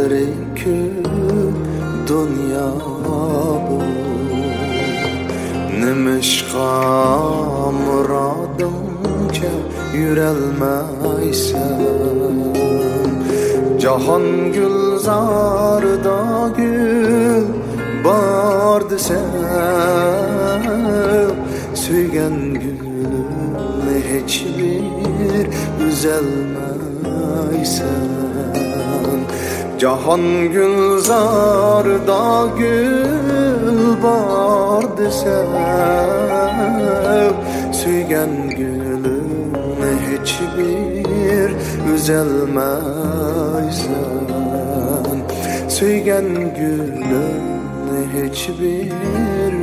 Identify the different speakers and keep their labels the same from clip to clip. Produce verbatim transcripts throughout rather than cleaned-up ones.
Speaker 1: qadri-ku dünya bu. Nimishqa murodimga yurolmaysan? Jahon gulzorida gul bor desam, suygan gulni hech bir uzolmaysan. Jahon gulzorida gul bor desam, suygan gulni hech bir uzolmaysan. Suygan gulni hech bir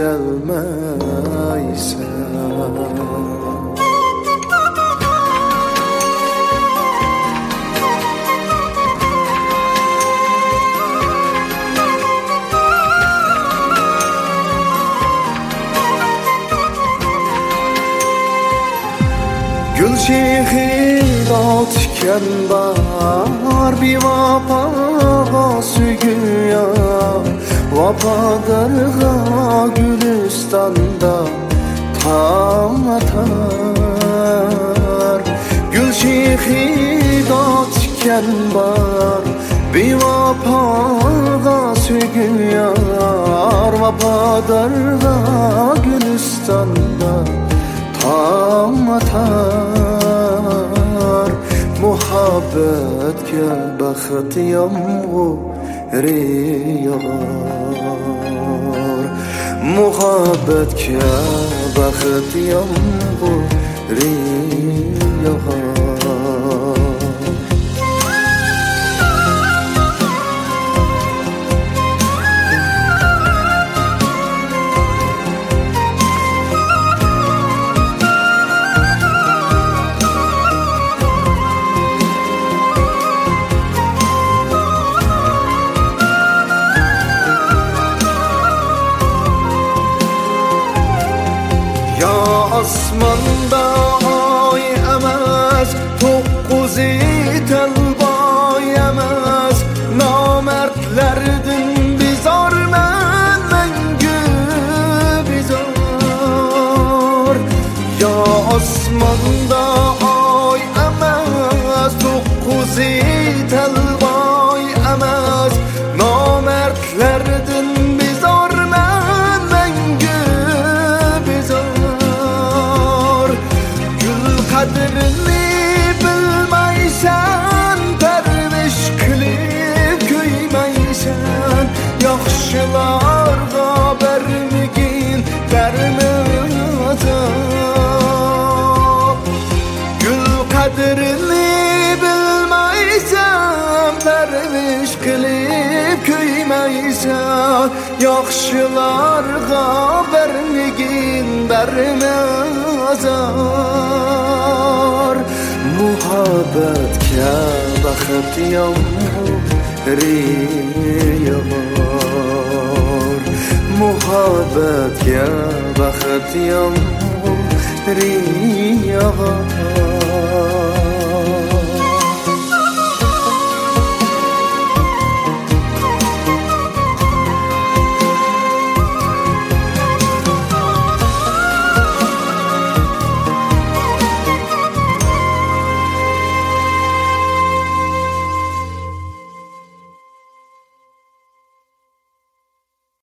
Speaker 1: uzolmaysan. Gülşehir atken bar bir vapaga sügüya, vapadarga Gülistanda tam atar. Gülşehir atken bar bir vapaga sügüya, vapadarga Gülistanda tam atar. Muhabbetke baxt yomg'iri yog'ar. Muhabbetke baxt yomg'iri yog'ar. Osmonda oy emas, to'qqizi talboy emas, nomardlardan bezorman mangu bezor. Yo osmonda oy emas, to'qqizi talboy emas, nomardlardan bezorman mangu bezor. Qadrini bilmaysan, parvish qilib ko'ymaysan. Yaxshilarga bermagin darmazor. Gul qadrini bilmaysan, parvish qilib ko'ymaysan. Yaxshilarga bermagin darmazor. Muhabbetke baxt yomg'iri yog'ar. Muhabbetke baxt yomg'iri yog'ar.